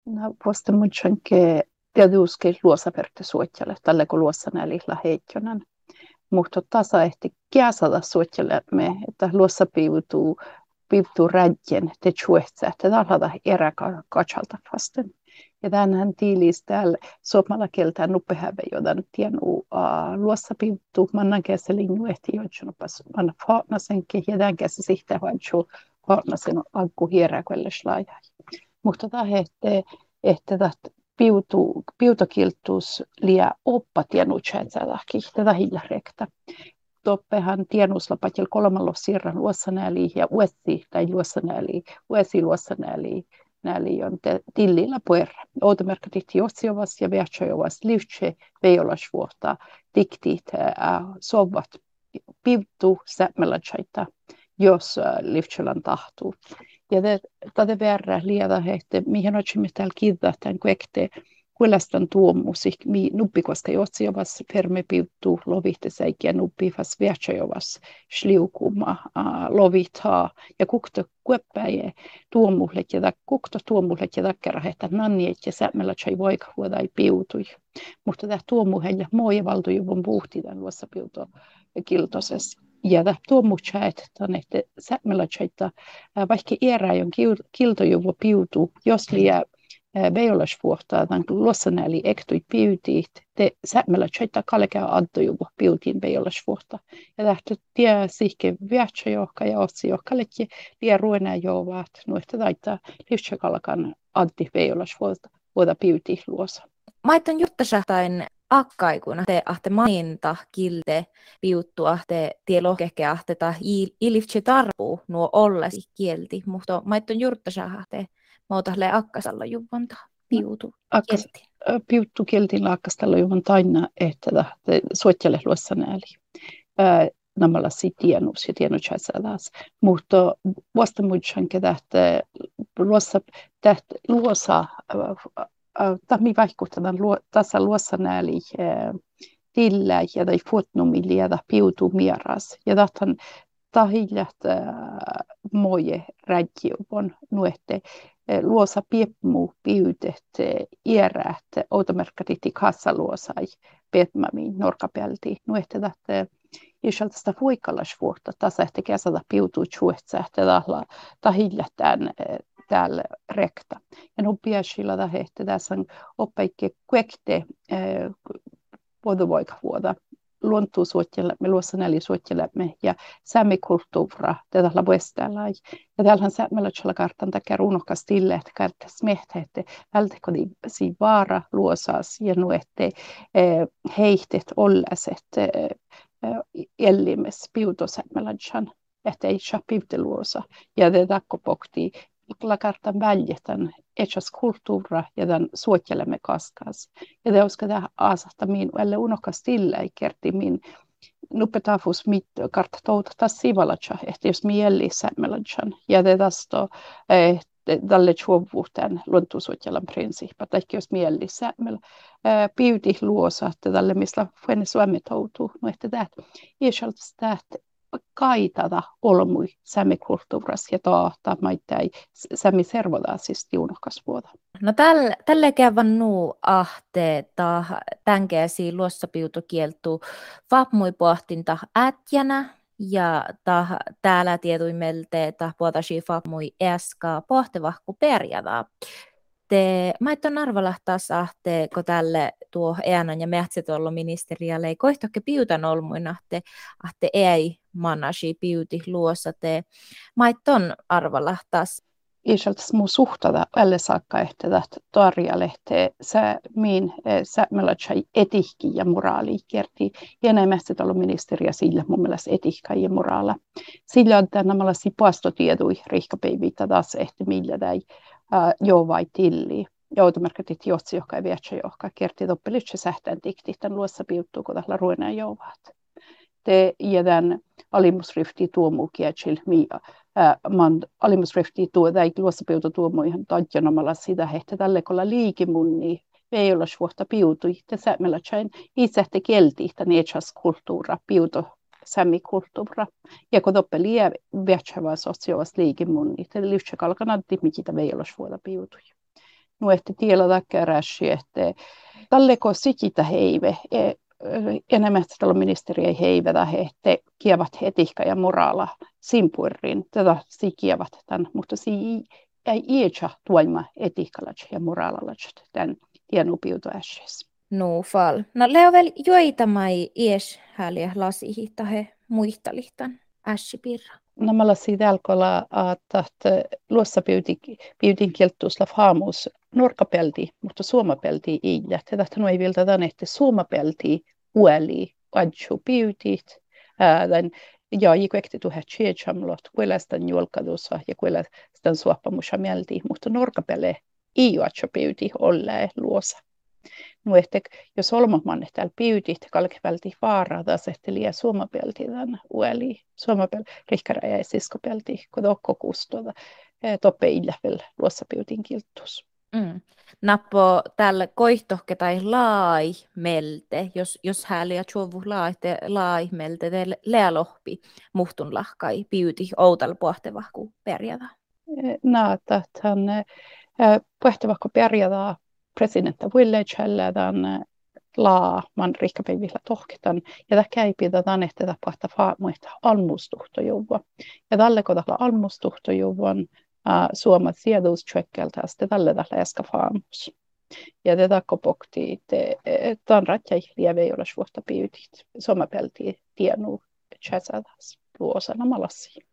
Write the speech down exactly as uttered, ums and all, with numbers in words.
No, posta mucho che tietysti luossa perte suotjalle, tälle kun luossa näillä heikkonen. Mutta tasa ehti kiasata suotjalle me, että luossa piivutuu, piivutuu rädjen, te chuetse, että tällä erä katsalta vasten. Ja tänään tiilis täällä suomalla kieltään nuppehäve, joten tienu luossa piivutuu, mannan käsi linju ehti joitsunupas, manna faanasenkin, ja tämän käsi sihtä vaatsu faanasen akku hierräkölle slaajai. Mutta tämä että että piutu piutakiltus lia oppa tienutsätsäläki tätä hiljarekta. Toppehan tienuslapatil kolmalla sirran luossanääli ja uesi tai luossanääli uesi luossanääli näli on tillillä puerra. Automerkatit jotsiovas ja viatsojovas livtse veijolasvuotta diktit sovat piutu sämmelätsäitä jos livtselan tahtuu. Ja tätä verran liian että mihin otsimme täällä kiittää tämän kuekte kuulastan tuomusik mi nuppikoska jotsiovas fermepiuttu lovihtesäikiä nuppifas viatsojovas sliukuma lovithaa ja kukto kueppäjä tuomuhlet ja kukto tuomuhlet ja takkarahet nanniet ja sämmällä chai voika huodai piutui. Mutta tämä tuomuhen ja moja valtujuvun puhti tämän luossa piuto kiltosessa. Ja tämä tuomuhchaet että sämmällä chaita vaikka iäräjön kiltojuvu piutu jos liian Veijolasvuotta tämän luossanääli ektui piutiit, te sämmällä chaita kalkea addojuvu piutiin veijolasvuotta. Ja tähtä tie sihke viatsajohka ja otsijohkallekin liian ruenää jouvaat, nuihta taittaa livtsakalkan addi veijolasvuotta vuota piutiin luossa. Maiton juttasahtain akkaikuna te ahte mainta kilte piuttua te tielohkeke ahte ta ilivtse tarpuu nuo ollesi kielti, mutta maiton juttasahte Mautahle akkasalla juvanta piutu kielti. Piutu kieltiin akkasalla juvanta aina, että suotjalle luossa nääli. Namalla si tienus ja tienutsässä taas. Mutta vasta muutsan, että luossa luossa tahmi vaikutetaan tässä luossa nääli tillä ja tai fotnumili ja piutu mieras. Ja tahtan tahillat moje rädjuvon nuette. Luosa piepmu piutet iärät automerkatitti kassaluosai petmämiin norkapelti nuehte tähtä isolta sitä voikallasvuotta tasa ehti kesätä piutuu chuetsa ehti tahla tahillätään täällä rekta. Ja nupiasilla tahehti tässä on oppaikke kuekte voiduvoikavuota luontuu suotjelemme, luossa näli suotjelemme ja sämmikulttuura tätä labuestälai. Ja täällähän sämmelötsellä kartan takia runokas tille, että kartas mehtä, että välttäkö si vaara luosas ja nuette heihtet olläset ellimes piutosämmelötsän, että ei saa piuteluosa. Ja te takko pohtii lakartan väljetän etsas kulttuura ja tämän suotjelemme kaskas. Ja te uskon tähän aasahta min, elle unokas tillä ei kerti min nupetafus mit kartta touta taas sivalatsa, että jos mi elli sämmelatsan. Ja te tästä tälle chuovuuteen luontusuotjelan prinsiippa, tai jos mi elli sämmel piuti luosa, että tälle missä fuenne suomi toutuu, no että tämä isolta sitä, kaitata olmui sämmikulttuuras ja taata maittai sämmi servodaasista juunokasvuota. No täl, tälle kävän nuu ahte ta tänkeäsi luossapiutu kieltu vapmui pohtinta ätjänä ja ta täällä tietuimelte ta puoltasi vapmui eska pohtevahku perjada. Te maitton arvalahtaas ahte, kun tälle tuo eanan ja mehtsetollo ministerialle ei kohtokke piutan olmuina, ahte, ahte ei manasi piuti luossa te maitton arvalahtaas. Isoltas muu suhtada alle saakka, että tarjalehte sä miin sä mellatsai etihki ja moraali kerti. Ja näin mehtsetollo ministeriä sillä mun mielestä etihka ja moraala. Sillä on nämä sipastotiedui rihkapeivitä taas ehti millä tai joo vai tilli. Joutomerkatit jotsi, joka ei vietsä, joka kerti toppelitse sähtään tikti, tämän luossa piuttuu, kun tällä ruenaa jouvaat. Te jädän alimusrifti tuomu kietsil, man alimusrifti tuo, tai luossa piutu tuomu ihan tadjanomalla sitä, että tälle kolla liikimunni, ei olla suhta piutui, te sämmellä tsain itse te kielti, tämän etsas kulttuura, piuto, sämmikulttuura. Ja kun toppe liian vietsä vaan sosiaalista liikimunni, te lyhtsä kalkanatti, mitä ei olla suhta piutui. Nu ehti tiellä takkäräsi, että talleko sikitä heive, enemmän tällä ministeri ei heivetä, he te kievat etiikka ja moraala simpurin, tätä sikievat tämän, mutta si ei iätsä tuoima etiikalla ja moraalalla tämän tienupiutuässässä. No fal. No leovel joita mai ies häliä lasihi tahe muistalihtan ässipirra. No mä lasin tälkolla, että luossa pyytin kieltuusla haamuus norkapelti, mutta suomapelti ei. Ja tätä ei vielä tämän, että suomapelti ueli, adju pyytit, ja jikuekti tuhe tsiechamlot, kuilla sitä julkadussa ja kuilla sitä suoppamusa mielti, mutta norkapelle ei adju pyyti olleen luossa. No ehtek, jos olmaman täällä pyytit, kalkipelti vaaraa, taas ehti liian suomapelti tämän ueli, suomapelti, rihkäräjä ja siskopelti, kun tokko kustoda, toppe illävel luossa pyytin kilttus. Mm. Nappo tällä koihtohke tai laai melte, jos, jos hääliä tjovu laite laai melte, te lealohpi muhtun lahkai pyyti outal pohtevahku perjada. Näitä, että pohtevahku perjada presidentti Villagelle tämän laa man rikkapäivillä tohketan ja tämä käypidetään että tämä pahta faamuita almustuhtojuva ja tälle kun tällä almustuhtojuvan suomat sieduustsekkeltä sitten tälle tällä äsken faamus ja tätä kopokti tämän ratjai lieve ei ole suotta pyytit suomapelti tienu tjäsätäs luosana malasi.